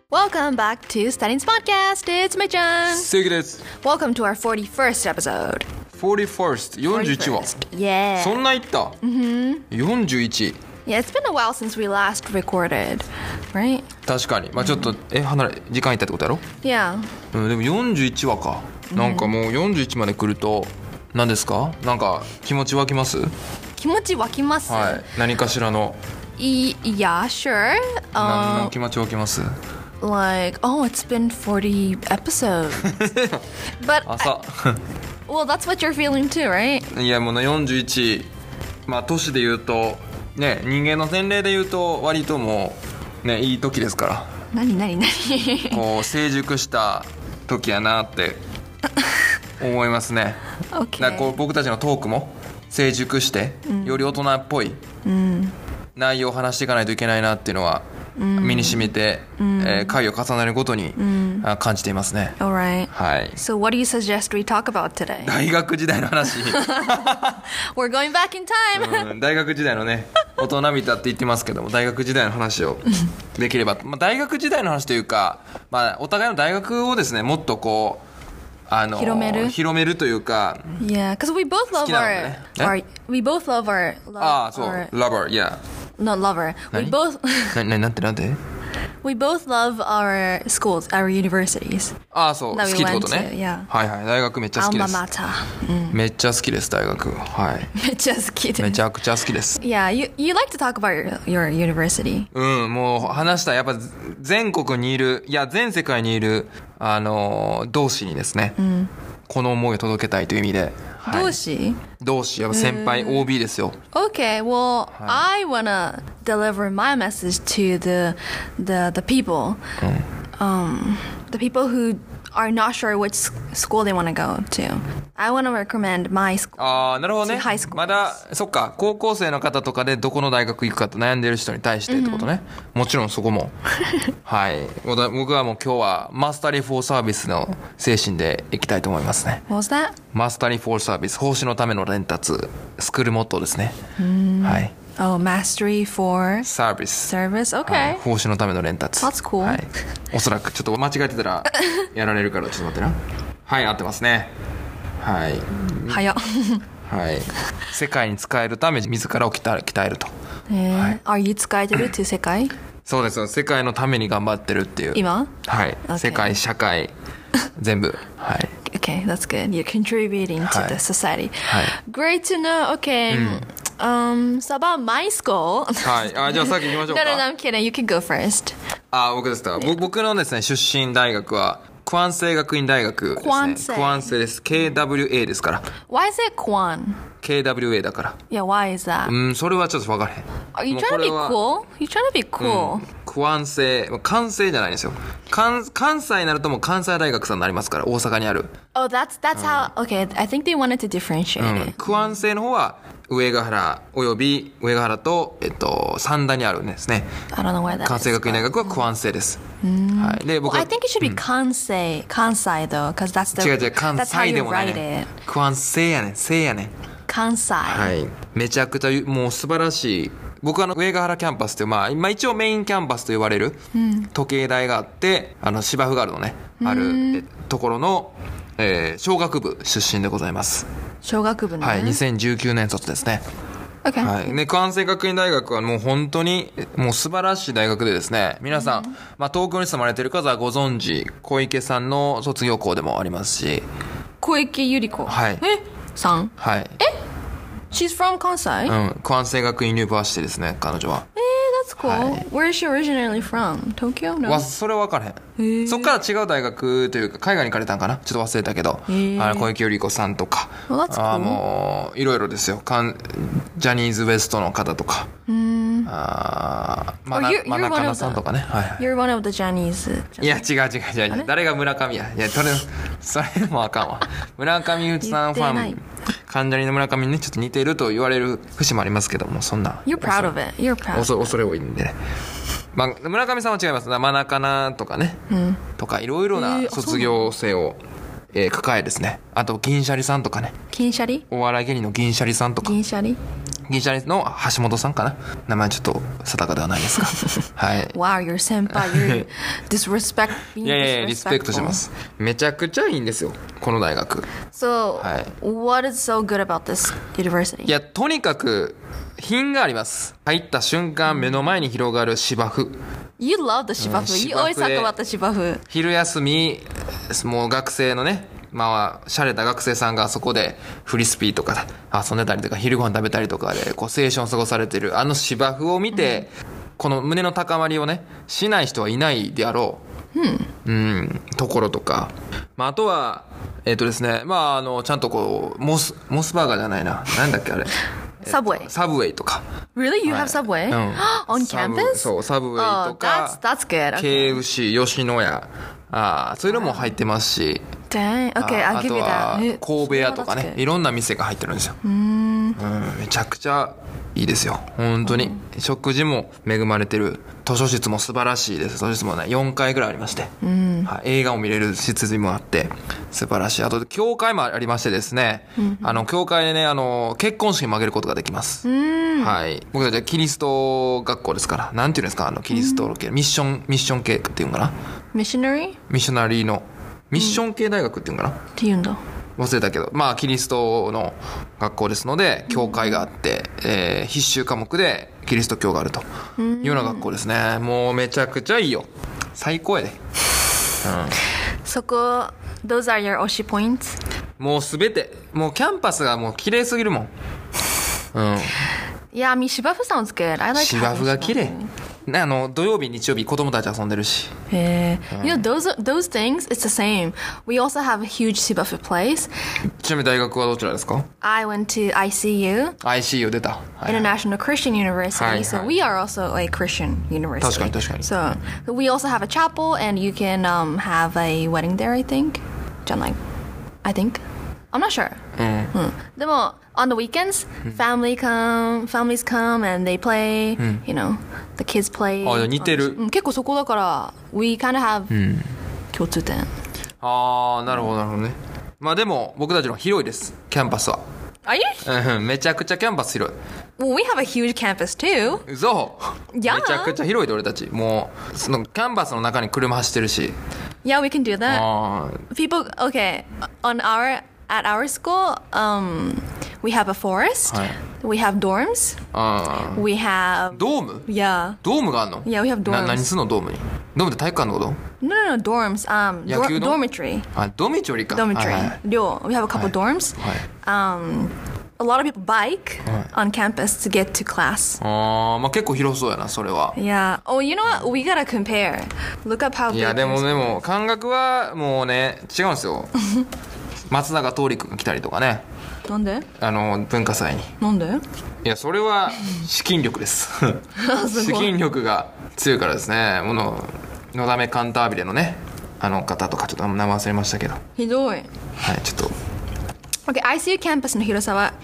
Welcome back to Studying's podcast. It's Mei-chan. 正義です。 Welcome to our 41st episode. 41st 41話 Yeah. そんな言った、41 Yeah, it's been a while since we last recorded, right? 確かにまあちょっと離れ時間いったってことやろ、 Yeah. でも41話か、なんかもう41まで来ると何ですか、なんか気持ち湧きます？ 気持ち湧きます。 はい、何かしらの Yeah, sure. 何の気持ち湧きます？ Like, oh, it's been 40 episodes. But, 朝 well, that's what you're feeling too, right? いやもう41、まあ年で言うとね、人間の年齢で言うと割ともうねいい時ですから。 何こう成熟した時やなって思いますね。 Okay. だからこう僕たちのトークも成熟して、より大人っぽい内容を話していかないといけないなっていうのは身に染みて、回を重ねるごとに、感じていますね。 Alright. はい。 So what do you suggest we talk about today? 大学時代の話。 We're going back in time. 大学時代のね、大人びたって言ってますけども、大学時代の話をできれば、まあ、大学時代の話というか、まあ、お互いの大学をですね、もっとこう広めるというか。 Yeah, because we both love we both love our そう lover, yeah. Not lover. We both なんて We both love our schools, our universities. そう、好きってことね。 Yeah. はいはい、大学めっちゃ好きです。 Alma mater. めっちゃ好きです、大学。はい。 めっちゃ好きです。 めちゃくちゃ好きです。 Yeah, you like to talk about your university. もう話したらやっぱ全国にいる、いや全世界にいる同志にですね、この思いを届けたいという意味で。はい、同志やっぱ先輩 OB ですよ。 Okay, well, I wanna deliver my message to the people, the people who are not sure which school they want to go to. I want to recommend my school. なるほどね。まだそっか、高校生の方とかでどこの大学行くかと悩んでる人に対してってことね。もちろんそこも。はい。僕はもう今日はマスタリー・フォー・サービスの精神でいきたいと思いますね。 What was that? マスタリー・フォー・サービス、奉仕のための伝達、スクールモットーですね。はい。 Oh, mastery for service. Okay. はい、奉仕のための伝達。 That's cool. はい。おそらくちょっと間違えてたらやられるからちょっと待ってな。はい、合ってますね。はい。 早っ。 はい。世界に使えるため自らを鍛えると。 Are you 使えてるって世界？ そうですよ。世界のために頑張ってるっていう。 今？ はい。 Okay. 世界、社会、全部。はい。 Okay, that's good. You're contributing to the society. はい。 Great to know. Okay. So about my school. はい。じゃあ先行きましょうか。 No, I'm kidding. You can go first. 僕ですか。僕のですね、出身大学は、クセ学院大学ですね。クセです。KWA ですから。 Why is it Kwan? KWA だから。 Yeah, why is that? それはちょっと分からへん。 Are you trying to be cool? You trying to be cool? 関西じゃないんですよ。関西になるともう関西大学さんになりますから、大阪にある。 Oh, that's how. Okay, I think they wanted to differentiate it. 関西の方は上ヶ原および上ヶ原と三田にあるんですね。 I don't know where that is. 関西学院大学は関西です。はい。で僕は I think it should be 関西 though, because that's the 違う関 that's how 西で you もない write ね。 it. 関西やねん、せいやねん。 関西。 はい。めちゃくちゃもう素晴らしい。僕は上ヶ原キャンパスというまあ一応メインキャンパスと言われる時計台があって芝生があるのねあるところの商学部出身でございます。 商学部ね。 はい。2019年卒ですね。 Okay. はい。ね、関西学院大学はもう本当にもう素晴らしい大学でですね、皆さん、まあ東京に住まれている方はご存知、小池さんの卒業校でもありますし。 小池百合子。 はい。 さん。 はい。 She's from 関西？ 関西学院ユニバーシティですね、彼女は。 That's cool. Where is she originally from? Tokyo? No. それは分からへん。そっから違う大学というか海外に行かれたんかな、ちょっと忘れたけど、小池百合子さんとか、もういろいろですよ。ジャニーズ WEST の方とか、真中さんとかね。はい。 You're one of the Chinese. いや違う。誰が村上や。いやそれもあかんわ。村上うつさんファン。関ジャニの村上にねちょっと似てると言われる節もありますけども、そんな You're proud of it. You're proud. 恐れ多いんでね。まあ村上さんは違います。真中なとかね、とかいろいろな卒業生を抱えですね。あと銀シャリさんとかね。 銀シャリ？ お笑い芸人の銀シャリさんとか。 銀シャリ？ 銀シャリの橋本さんかな、名前ちょっと定かではないですがはい Wow, you're 先輩 you're disrespect いやいやリスペクトしてます。めちゃくちゃいいんですよこの大学。 So、 はい、 what is so good about this university? いやとにかく品があります。入った瞬間目の前に広がる芝生。 You love the 芝生、You always talk about the 芝生。 昼休みもう学生のねまあ、洒落た学生さんがそこでフリスピーとか遊んでたりとか昼ご飯食べたりとかでこう青春を過ごされてるあの芝生を見て、この胸の高まりをねしない人はいないであろう、ところとか、まあ、あとはですね、まあ、ちゃんとこうモスバーガーじゃないな、なんだっけあれ Subway サブウェイとか。 Really? You have Subway? On campus? そうサブウェイとか、 that's good. KFC 吉野家そういうのも入ってますし、 Dang. Okay, I'll あ give と you は that. 神戸屋とかね、いろんな店が入ってるんですよ。めちゃくちゃいいですよ本当に。食事も恵まれてる。図書室も素晴らしいです。図書室もね4階ぐらいありまして、はい、映画を見れる設備もあって素晴らしい。あと教会もありましてですね、教会でね結婚式も挙げることができます。はい、僕たちはキリスト学校ですから、なんていうんですかキリスト系ミッション系っていうんかな、 ミッショナリーのミッション系大学っていうんかな、 って言うんだ。 忘れたけど、まあキリストの学校ですので教会があって、必修科目でキリスト教があるというような学校ですね。もうめちゃくちゃいいよ、最高やで、 そこ Those are your 推し points? もうすべてもうキャンパスがもう綺麗すぎるもん。 Yeah, I mean 芝生 sounds good. I like 芝生が綺麗。土曜日日曜日子供たち遊んでるし。 You know those things it's the same. We also have a huge 芝生 place. ちなみに大学はどちらですか？ I went to ICU 出た、はい、 International Christian University. はいはい、 so we are also a Christian university. 確かに確かに。 So we also have a chapel and you can have a wedding there, I think. I think. I'm not sure. でも on the weekends, families come and they play, you know, the kids play. あ、似てる。 結構そこだから we kind of have 共通点。 ああ、なるほどなるほどね。まあでも僕たちの広いですキャンパスは。 Are you? めちゃくちゃキャンパス広い。 Well, we have a huge campus too. 嘘。 いやめちゃくちゃ広いで俺たち。もうそのキャンパスの中に車走ってるし。 Yeah, we can do that. あ People, okay, at our school, we have a forest. はい。 We have dorms. あ We have ドーム？ yeah. ドームがあんの？ Yeah, we have dorms. 何すんのドームに？ドームって体育館のこと？ No, dorms. 野球の？ Dormitory. あ、ドミトリーか。 Dormitory. はいはい。 寮 We have a couple dorms. はい。 A lot of people bike on campus to get to class. まあ結構広そうやなそれは。 Yeah. Oh, you know what? We gotta compare. Look up how い big やで your も school is. 感覚はもうね違うんですよ。松永桃李君が来たりとかね、 なんで？ 文化祭に。 なんで？ いやそれは資金力です資金力が強いからですね。のだめカンタービレのね方とかちょっと名前忘れましたけど、 ひどい。 はいちょっと Okay, ICU キャンパスの広さは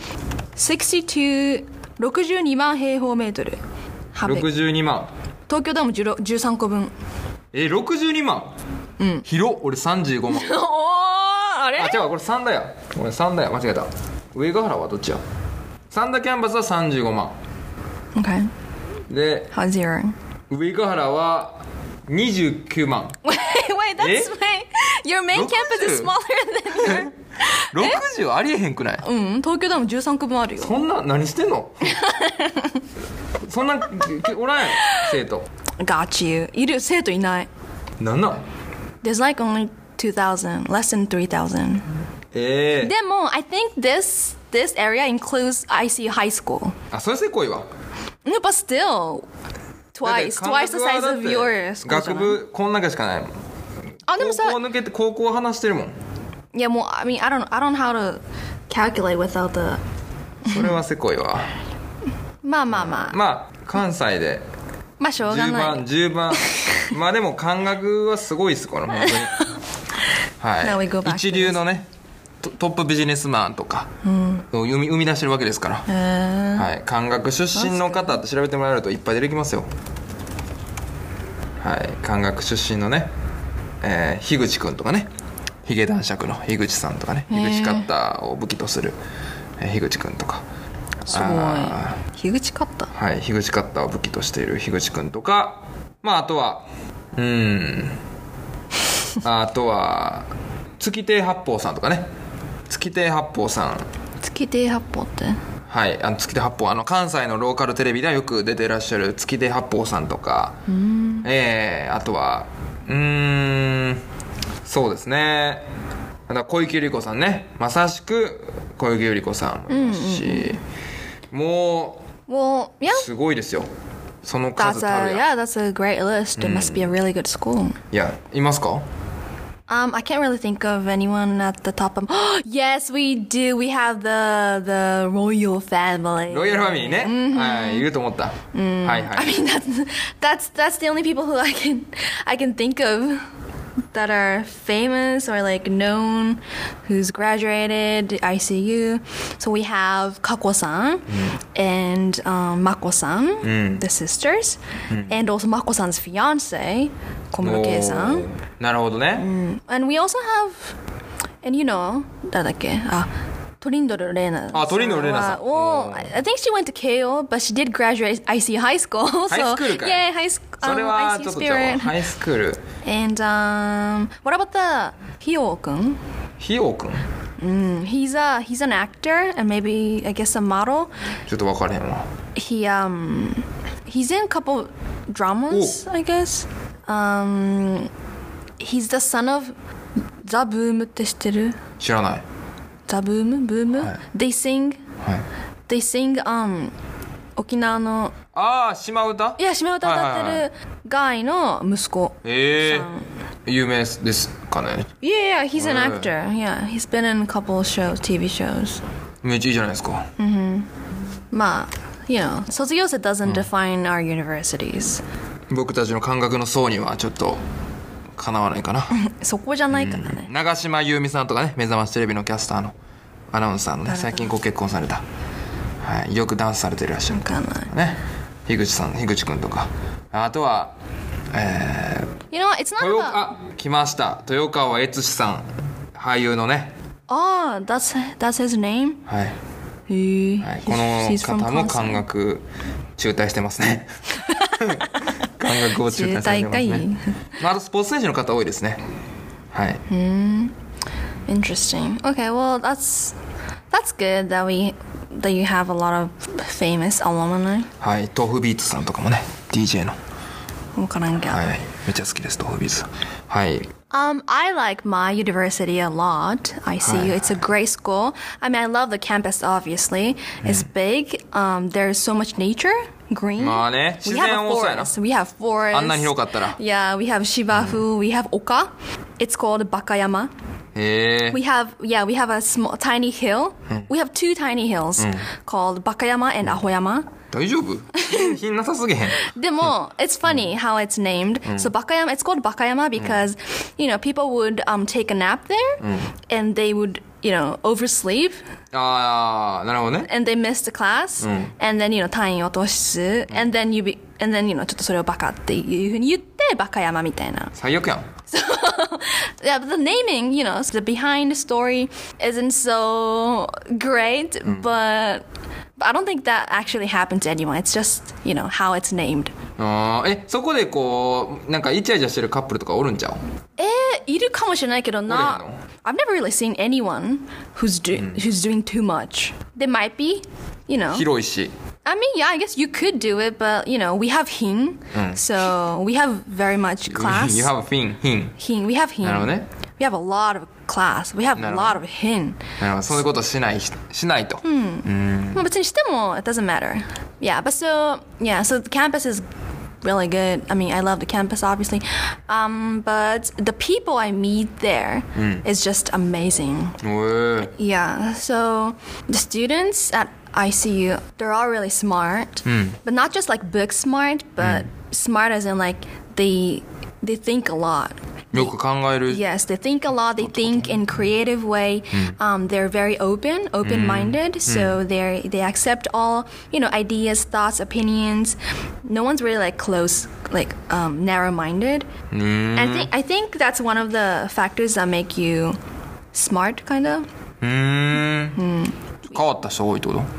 62万平方メートル。 62万。 東京ドーム13個分。 62万。広。俺35万。 おー、あれ？ あ、違う、これ三田や。俺三田や、間違えた。上ヶ原はどっちや？三田キャンパスは35万。 Okay. で、 How's your? 上ヶ原は29万。 Wait, that's your main campus is smaller than your. 60ありえへんくない？ 東京ドーム13個分あるよ。 そんな何してんの？そんなおらんやん生徒。 Got you. いる生徒いない。 なんなん？ There's like only 2,000, less than 3,000. でも I think this area includes ICU high school. あ、それせこいわ。 No, but still twice the size of your school. 学部こん中しかないもん。 あ、でもさ、 高校抜けて高校話してるもん。 いやもう I mean I don't know how to calculate without the. それはせこいわ。 まあまあ関西でまあしょうがない。 10番まあでも感覚はすごいですこれ本当に。 Now we go は back い。一流のねトップビジネスマンとかを生み出してるわけですから。はい。感覚出身の方って調べてもらえるといっぱい出てきますよ。はい。感覚出身のね、樋口くんとかね、ヒゲ男爵の樋口さんとかね、樋口カッターを武器とする樋口くんとか、 すごい。樋口カッター。 はい、樋口カッターを武器としている樋口くんとか、まああとはあとは月亭八方さんとかね。月亭八方さん。 月亭八方って？ はい、月亭八方、関西のローカルテレビではよく出てらっしゃる月亭八方さんとか、あとはそうですね、小池百合子さんね、まさしく小池百合子さんもいますし、もうすごいですよ、その数たるや。 That's a great list. It must be a really good school. いや、いますか ？I can't really think of anyone at the top of. Yes, we do. We have the royal family. ロイヤルファミリーね。はい、いると思った。はいはい。 I mean that's the only people who I can think of that are famous or like known, who's graduated ICU. So we have Kako-san and Mako-san, the sisters, and also Mako-san's fiance, Komuro-kei-san. なるほどね。 And we also have, and you know, 誰だっけ？トリンドルレーナ。 トリンドルレーナさん。 Well, I think she went to Keio, but she did graduate ICU high school. ハイスクールかい。 Yeah, high school. それはちょっとじゃあハイスクール。 And what about the Hyo-kun? ひようくん。 He's an actor and maybe I guess a model. ちょっと分かれへんわ。 He's in a couple dramas, I guess. He's the son of The Boom って知ってる？ 知らない。 The Boom? Boom? はい。 They sing. はい。 They sing 沖縄の島唄？ いや島唄歌ってるガイの息子。 有名ですかね。 Yeah, he's an actor. Yeah, he's been in a couple shows, TV shows. めっちゃいいじゃないですか。 まあ、you know, 卒業生 doesn't define our universities. 僕たちの感覚の層にはちょっとかなわないかな。 そこじゃないからね。 長島優美さんとかね、目覚ましテレビのキャスターのアナウンサーのね、最近ご結婚された、はい、よくダンスされていらっしゃるね、樋口くんとか、あとは You know what? It's not about... 来ました、豊川悦司さん、俳優のね。 that's his name? はい、はい、この方も感覚中退してますね。感覚を中退されてますね。あとスポーツ選手の方多いですね。はい。 Interesting. Okay, well that's good that you have a lot of famous alumni. はい、豆腐ビーツさんとかもね、DJ の。 わからんけど。 はい、めっちゃ好きです豆腐ビーツさん。はい。 I like my university a lot. ICU. It's a great school. I mean, I love the campus, obviously. It's big. There's so much nature, green. まあね、自然多そうやな。 We have forests. あんなに広かったら。 Yeah, we have Shibafu. We have Oka. It's called Bakayama. We have a small, tiny hill. We have two tiny hills called Bakayama and Ahoyama. 大丈夫？品なさすぎへん。 でも、it's funny how it's named. So Bakayama, it's called Bakayama because, you know, people would take a nap there and they would, you know, oversleep. なるほどね。 And they missed the class. And then, you know, 単位落とす。And then, you know, ちょっとそれをバカっていうふうに言って、バカ山みたいな。 最悪やん。 So, yeah, but the naming, you know, the behind story isn't so great, but I don't think that actually happened to anyone. It's just, you know, how it's named. そこでこうなんかイチャイチャしてるカップルとかおるんちゃう？ いるかもしれないけどな。I've never really seen anyone who's doing too much. There might be, you know. 広いし。 I mean, yeah, I guess you could do it, but, you know, we have hin, so we have very much class. You have hin. Hin, we have hin. なるほどね。 We have a lot of class. We have a lot of hin. なるほど、そういうことしないと。 まあ別にしても it doesn't matter. Yeah, but so the campus is really good. I mean, I love the campus, obviously. But the people I meet there is just amazing. Yeah, so the students at ICU, they're all really smart. But not just like book smart, but smart as in like they think a lot. よく考える。 Yes, they think a lot. They think in creative way. They're very open-minded. So they accept all, you know, ideas, thoughts, opinions. No one's really like close, like narrow-minded. And I think that's one of the factors that make you smart, kind of. 変わった人多いってこと？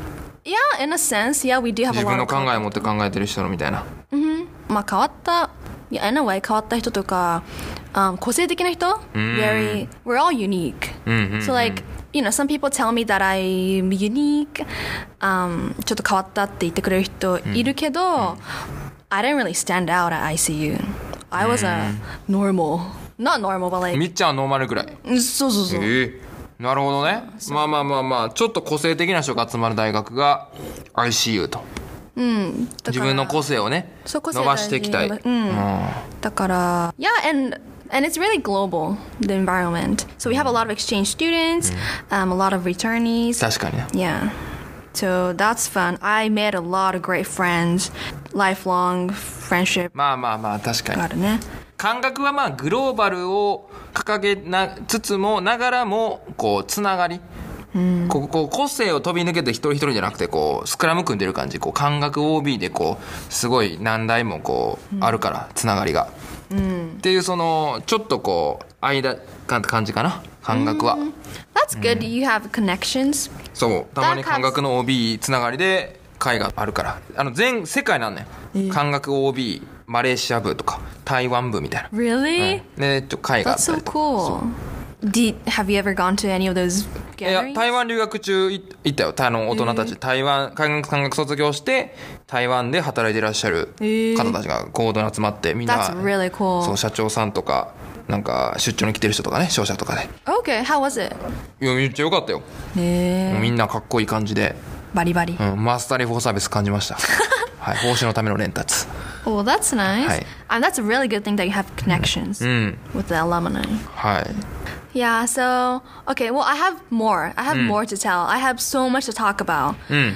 Yeah, in a sense, yeah, we do have a 自 lot 分の of 考えを持って考えてる人のみたいな。 まあ変わった、yeah, in a way 変わった人とか、個性的な人、we're all unique. So like, you know, some people tell me that I'm unique. ちょっと変わったって言ってくれる人いるけど、I didn't really stand out at ICU. I was a normal, not normal, but like みっちゃんはノーマルぐらい。 そうそうそう。 なるほどね。まあまあまあまあ、ちょっと個性的な人が集まる大学が ICU と。自分の個性をね、伸ばしていきたい。 だから、yeah, and it's really global, the environment. So we have a lot of exchange students, a lot of returnees. 確かにね。 Yeah. So that's fun. I made a lot of great friends, lifelong friendship. まあまあまあ、確かに。 あるね。 感覚はまあグローバルを掲げなつつもながらもこうつながり、こう個性を飛び抜けて一人一人じゃなくてこうスクラム組んでる感じ、こう感覚 OB でこうすごい何台もこうあるからつながりが、っていうそのちょっとこう間感じかな、感覚は。 That's good. You have connections. そうたまに感覚の OB つながりで会があるから、全世界なんねん、感覚 OB マレーシア部とか台湾部みたいな。 Really? で会があっ That's た so りとか。 cool. Have you ever gone to any of those いや gatherings? 台湾留学中行ったよ。大人たち、台湾感覚卒業して台湾で働いていらっしゃる方たちが合同に集まって、みんな That's really cool. そう社長さんとかなんか出張に来てる人とかね、商社とかで。 Okay, how was it? いやめっちゃ良かったよ。もうみんなかっこいい感じで、 バリバリ。 マスターリフォーサービス感じました。はい、報酬のための連達。 Oh, that's nice. はい。 And that's a really good thing that you have connections with the alumni. はい。 Yeah, so, okay, well, I have more. I have more to tell. I have so much to talk about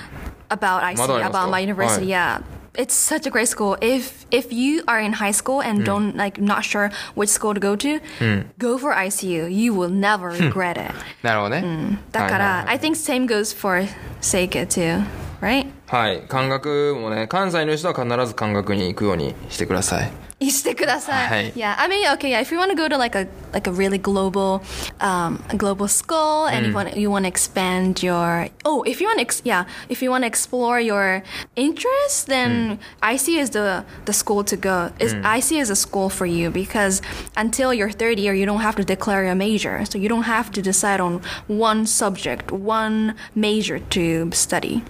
IC, まだありますか？ about my university. Yeah. It's such a great school. If you are in high school and don't like not sure which school to go to, go for ICU. You will never regret it. なるほどね。 だから、I think same goes for Seika too, right? はい、感覚もね、関西の人は必ず感覚に行くようにしてください。 してください。 はい。 Yeah, I mean, okay, yeah. If you want to go to like a really global, global school, and you want to expand your, if you want to, if you want to explore your interests, then IC is the school to go. IC is a school for you because until your third year, you don't have to declare a major, so you don't have to decide on one subject, one major to study.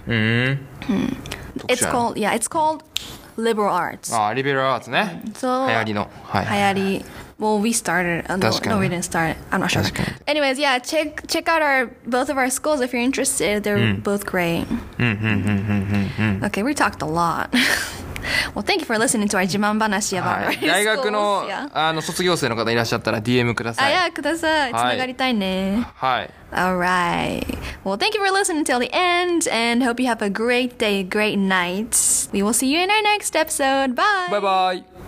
It's called liberal arts. ああ、リベラルアーツね。 そう流行りの。はい。 流行り。Well, we started. No, we didn't start. I'm not sure. Anyways, yeah, check out both of our schools if you're interested. They're both great. Okay, we talked a lot. Well, thank you for listening to our 自慢話 about our schools. 大学の卒業生の方いらっしゃったら DM ください。 いや、ください。つながりたいね。 はい。 Alright. Well, thank you for listening till the end and hope you have a great day, great night. We will see you in our next episode. Bye. Bye bye.